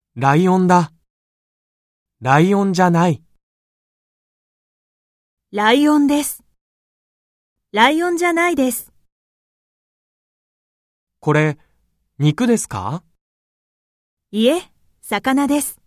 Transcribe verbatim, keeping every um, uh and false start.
ライオンだ。ライオンじゃない。 ライオンです。ライオンじゃないです。 これ、肉ですか？ いえ、魚です。